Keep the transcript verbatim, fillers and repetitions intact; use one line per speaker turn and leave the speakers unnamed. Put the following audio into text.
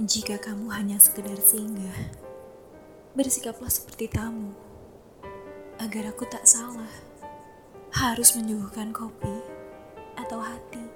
Jika kamu hanya sekedar singgah, bersikaplah seperti tamu, agar aku tak salah harus menyuguhkan kopi atau hati.